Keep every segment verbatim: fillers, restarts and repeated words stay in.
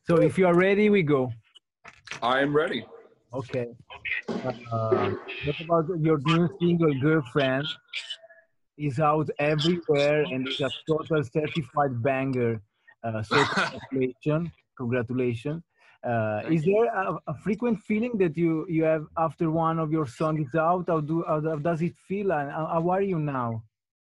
So if you are ready, we go. I am ready. Okay. Uh, what about your new single, Girlfriend? Is out everywhere and is a total certified banger. Uh, so congratulations, congratulations. Uh, is Thank you. there a, a frequent feeling that you you have after one of your songs is out? How do how does it feel, and how, how are you now?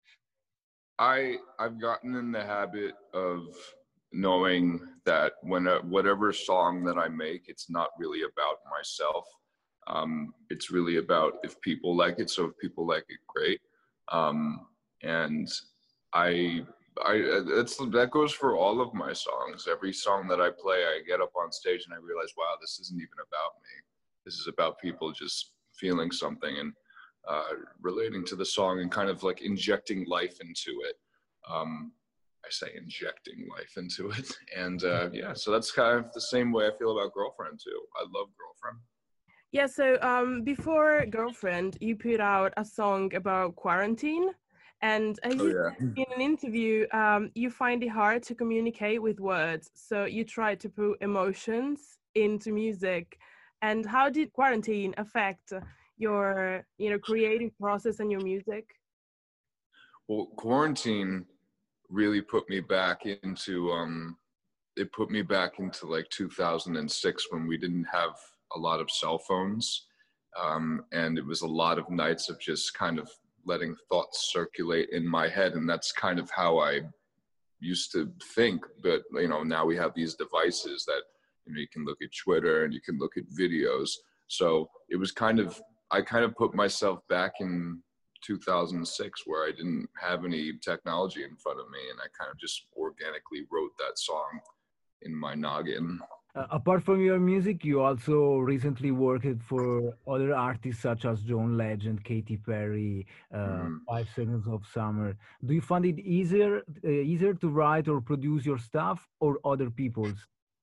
I I've gotten in the habit of knowing that when a, whatever song that I make, it's not really about myself. Um, it's really about if people like it. So if people like it, great. Um, and I I that's that goes for all of my songs. Every song that I play, I get up on stage and I realize, wow, this isn't even about me. This is about people just feeling something and uh, relating to the song and kind of like injecting life into it. Um, I say injecting life into it. And uh, yeah, so that's kind of the same way I feel about Girlfriend too. I love Girlfriend. Yeah, so um, before Girlfriend, you put out a song about quarantine. And as Oh, you yeah. said in an interview, um, you find it hard to communicate with words. So you try to put emotions into music. And how did quarantine affect your, you know, creative process and your music? Well, quarantine really put me back into, um, it put me back into like two thousand six when we didn't have a lot of cell phones. Um, and it was a lot of nights of just kind of letting thoughts circulate in my head. And that's kind of how I used to think. But, you know, now we have these devices that, you know, you can look at Twitter and you can look at videos. So it was kind of, I kind of put myself back in two thousand six where I didn't have any technology in front of me. And I kind of just organically wrote that song in my noggin. Uh, apart from your music, you also recently worked for other artists such as John Legend, Katy Perry, uh, Mm-hmm. Five Seconds of Summer. Do you find it easier uh, easier to write or produce your stuff or other people's?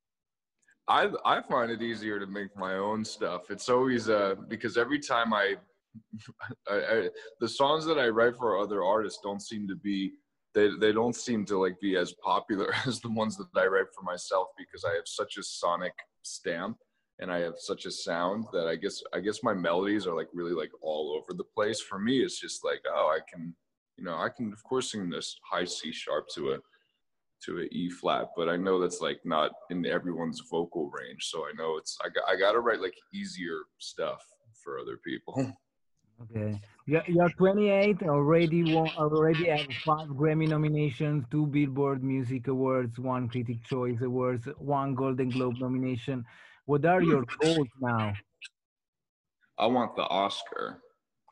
I I find it easier to make my own stuff. It's always uh because every time I, I, I the songs that I write for other artists don't seem to be they they don't seem to like be as popular as the ones that I write for myself because I have such a sonic stamp and I have such a sound that I guess I guess my melodies are like really like all over the place. For me, it's just like, oh, I can, you know, I can of course sing this high C sharp to a to an E flat, but I know that's like not in everyone's vocal range. So I know it's I got I got to write like easier stuff for other people. Okay. Yeah, you're twenty-eight, already won, already have five Grammy nominations, two Billboard Music Awards, one Critic Choice Awards, one Golden Globe nomination. What are your goals now? I want the Oscar.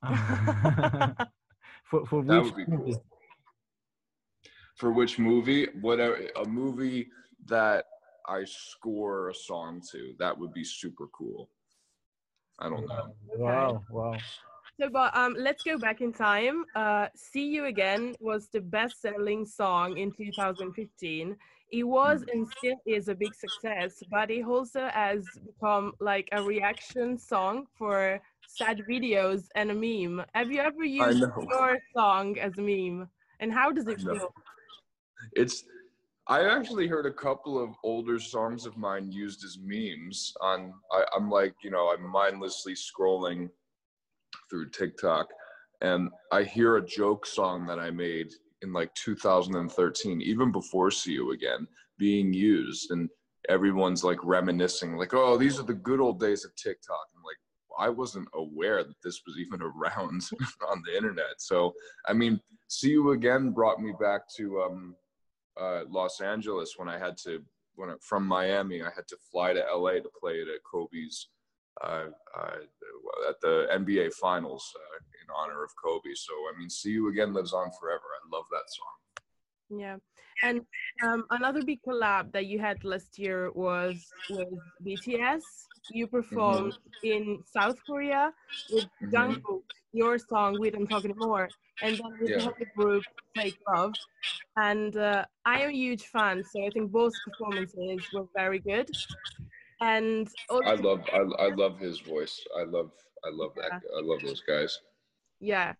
for for That which would be movie? cool. For which movie? Whatever, a movie that I score a song to. That would be super cool. I don't know. Okay. Wow, wow. So, but um, let's go back in time. Uh, "See You Again" was the best-selling song in two thousand fifteen. It was and still is a big success, but it also has become like a reaction song for sad videos and a meme. Have you ever I used know. your song as a meme? And how does it I know. feel? It's I actually heard a couple of older songs of mine used as memes on I, I'm like, you know, I'm mindlessly scrolling through TikTok and I hear a joke song that I made in like two thousand thirteen, even before See You Again, being used and everyone's like reminiscing, like, oh, these are the good old days of TikTok. I'm like, I wasn't aware that this was even around on the internet. So, I mean, See You Again brought me back to um, uh, Los Angeles when I had to, when I, from Miami, I had to fly to L A to play it at Kobe's, uh, uh, at the N B A Finals uh, in honor of Kobe. So, I mean, See You Again lives on forever. I love that song. Yeah. And um, another big collab that you had last year was with B T S. You performed Mm-hmm. in South Korea with Mm-hmm. Jungkook, your song "We Don't Talk Anymore," and then with the Yeah. whole group Fake Love. And uh, I am a huge fan, so I think both performances were very good. And I also, love I, I love his voice. I love I love that yeah, I love those guys. yeah.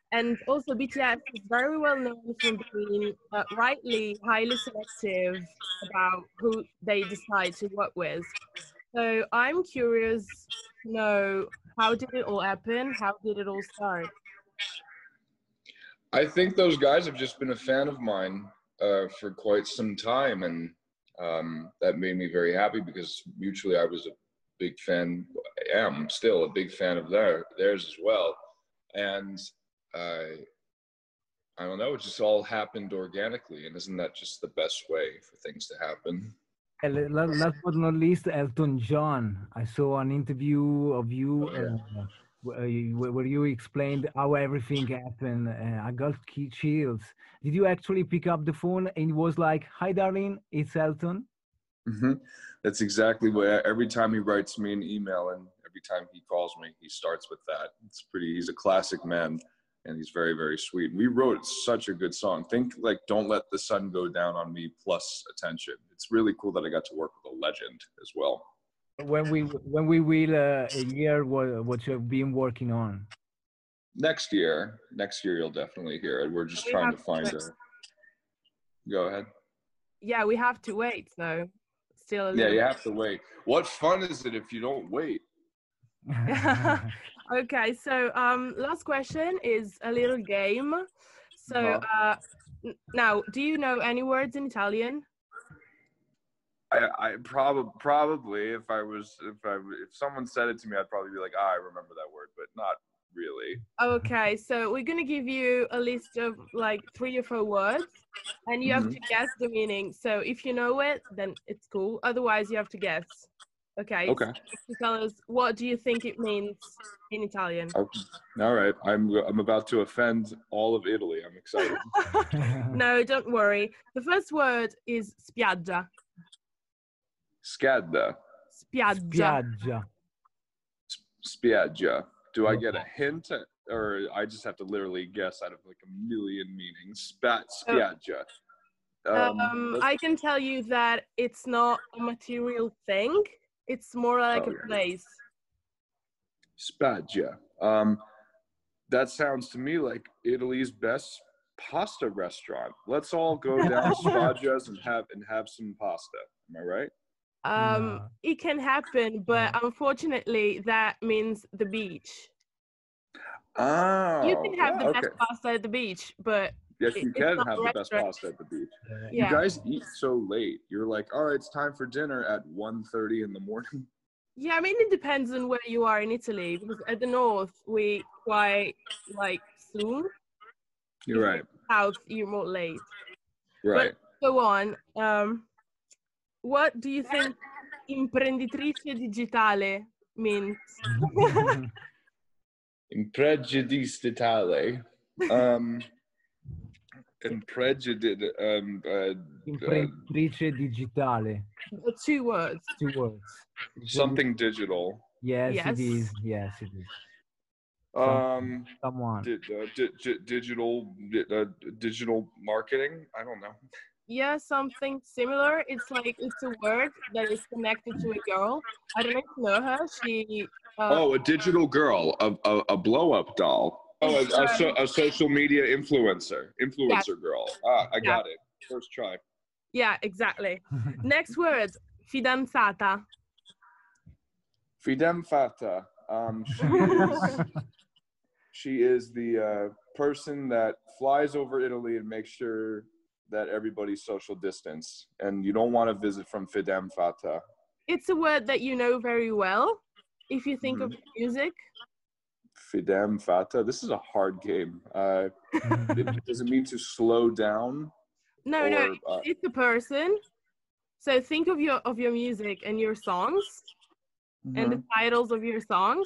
And also B T S is very well known for being uh, rightly highly selective about who they decide to work with. So I'm curious to know, how did it all happen? How did it all start? I think those guys have just been a fan of mine uh, for quite some time, and um, that made me very happy because mutually I was a big fan, I am still a big fan of their theirs as well, and uh, I don't know, it just all happened organically, and isn't that just the best way for things to happen? And la- last but not least, Elton John. I saw an interview of you Oh, yeah. uh, where you where you explained how everything happened. Uh, I got key chills. Did you actually pick up the phone and it was like, "Hi, darling, it's Elton"? hmm That's exactly what, every time he writes me an email and every time he calls me, he starts with that. It's pretty, he's a classic man and he's very, very sweet. We wrote such a good song. Think like Don't Let the Sun Go Down on Me plus Attention. It's really cool that I got to work with a legend as well. When we when we will uh, hear what what you've been working on. Next year, next year you'll definitely hear it. We're just We trying have to find to- a, go ahead. Yeah, we have to wait though. Still a Yeah, little. you have to wait. What fun is it if you don't wait? Okay, so um, last question is a little game. So Uh-huh. uh, n- now, do you know any words in Italian? I, I probably probably if I was if I if someone said it to me, I'd probably be like, ah, I remember that word, but not really. Okay, so we're gonna give you a list of like three or four words, and you have Mhm. to guess the meaning. So if you know it, then it's cool. Otherwise, you have to guess. Okay. Okay. So you have to tell us, what do you think it means in Italian? Okay. All right. I'm I'm about to offend all of Italy. I'm excited. No, don't worry. The first word is spiaggia. Scadda. Spiaggia. Spiaggia. Spiaggia. Do I get a hint, or I just have to literally guess out of like a million meanings? Spat spiaggia. Um, Um, let's- I can tell you that it's not a material thing. It's more like Oh, a yeah. place. Spaggia. Um, that sounds to me like Italy's best pasta restaurant. Let's all go down Spaggia's and have and have some pasta. Am I right? Um, No. it can happen, but unfortunately, that means the beach. Oh, You can have yeah, the okay. best pasta at the beach, but Yes, it- you it's can not have a the best restaurant. pasta at the beach. Uh, Yeah. You guys eat so late. You're like, all right, it's time for dinner at one thirty in the morning. Yeah, I mean, it depends on where you are in Italy, because at the north, we quite like soon. You're right. South, you're more late. Right. Go on. Um, what do you think imprenditrice digitale means? Impregiudicatale. Um, impregiud. Um, uh, uh, Imprenditrice digitale. Uh, Two words. Two words. something digital. Yes, Yes. it is. Yes, it is. Um, Someone. di- uh, di- di- digital, di- uh, digital marketing. I don't know. Yeah, something similar. It's like it's a word that is connected to a girl. I don't know if you know her. She. Uh, Oh, a digital girl, a a, a blow up doll. Oh, a, a, so, a social media influencer, influencer girl. Ah, I got it. First try. Yeah, exactly. Next word, fidanzata. Fidem Fata. Um, she is she is the uh, person that flies over Italy and makes sure that everybody's social distance, and you don't want to visit from Fidem Fata. It's a word that you know very well. If you think of music, Fidem Fata. This is a hard game. Uh, it, does it mean to slow down? no, or, no, uh, it's a person. So think of your of your music and your songs and the mhm. titles of your songs.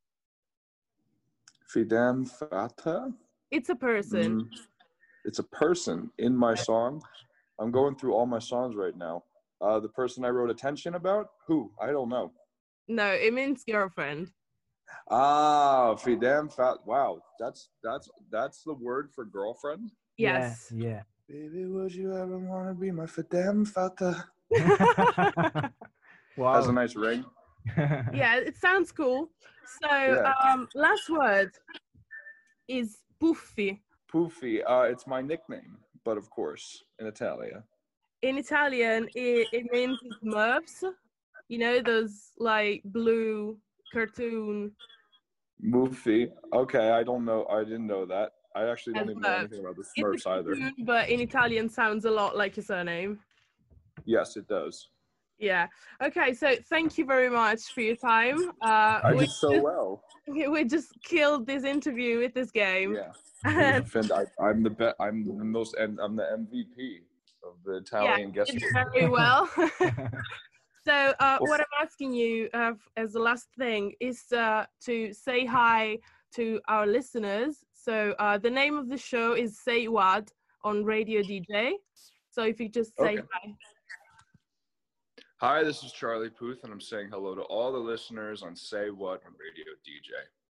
Fidem Fata. It's a person. Mm, it's a person in my song. I'm going through all my songs right now. Uh, the person I wrote Attention about? Who? I don't know. No, it means girlfriend. Ah, Fidem Fat. Wow, that's that's that's the word for girlfriend. Yes. Yeah. Baby, would you ever want to be my Fidem Fata? Yeah. Wow. Has a nice ring. Yeah, it sounds cool. So Yeah. um, last word is Puffi? Poofy. Uh, it's my nickname, but of course, in Italian. In Italian, it, it means Smurfs. You know, those like blue cartoon. Moofy. Okay, I don't know. I didn't know that. I actually don't As even know Smurfs. anything about the It's a Smurfs either. cartoon, but in Italian sounds a lot like your surname. Yes, it does. Yeah. Okay. So thank you very much for your time. Uh, I we did so just, well. we just killed this interview with this game. Yeah. And I, I'm the be- I'm the most, and I'm the M V P of the Italian yeah, guest. did very well. So uh, Well, what I'm asking you uh, as the last thing is uh, to say hi to our listeners. So uh, the name of the show is Say What on Radio D J. So if you just say Okay. hi. Hi, this is Charlie Puth, and I'm saying hello to all the listeners on Say What on Radio D J.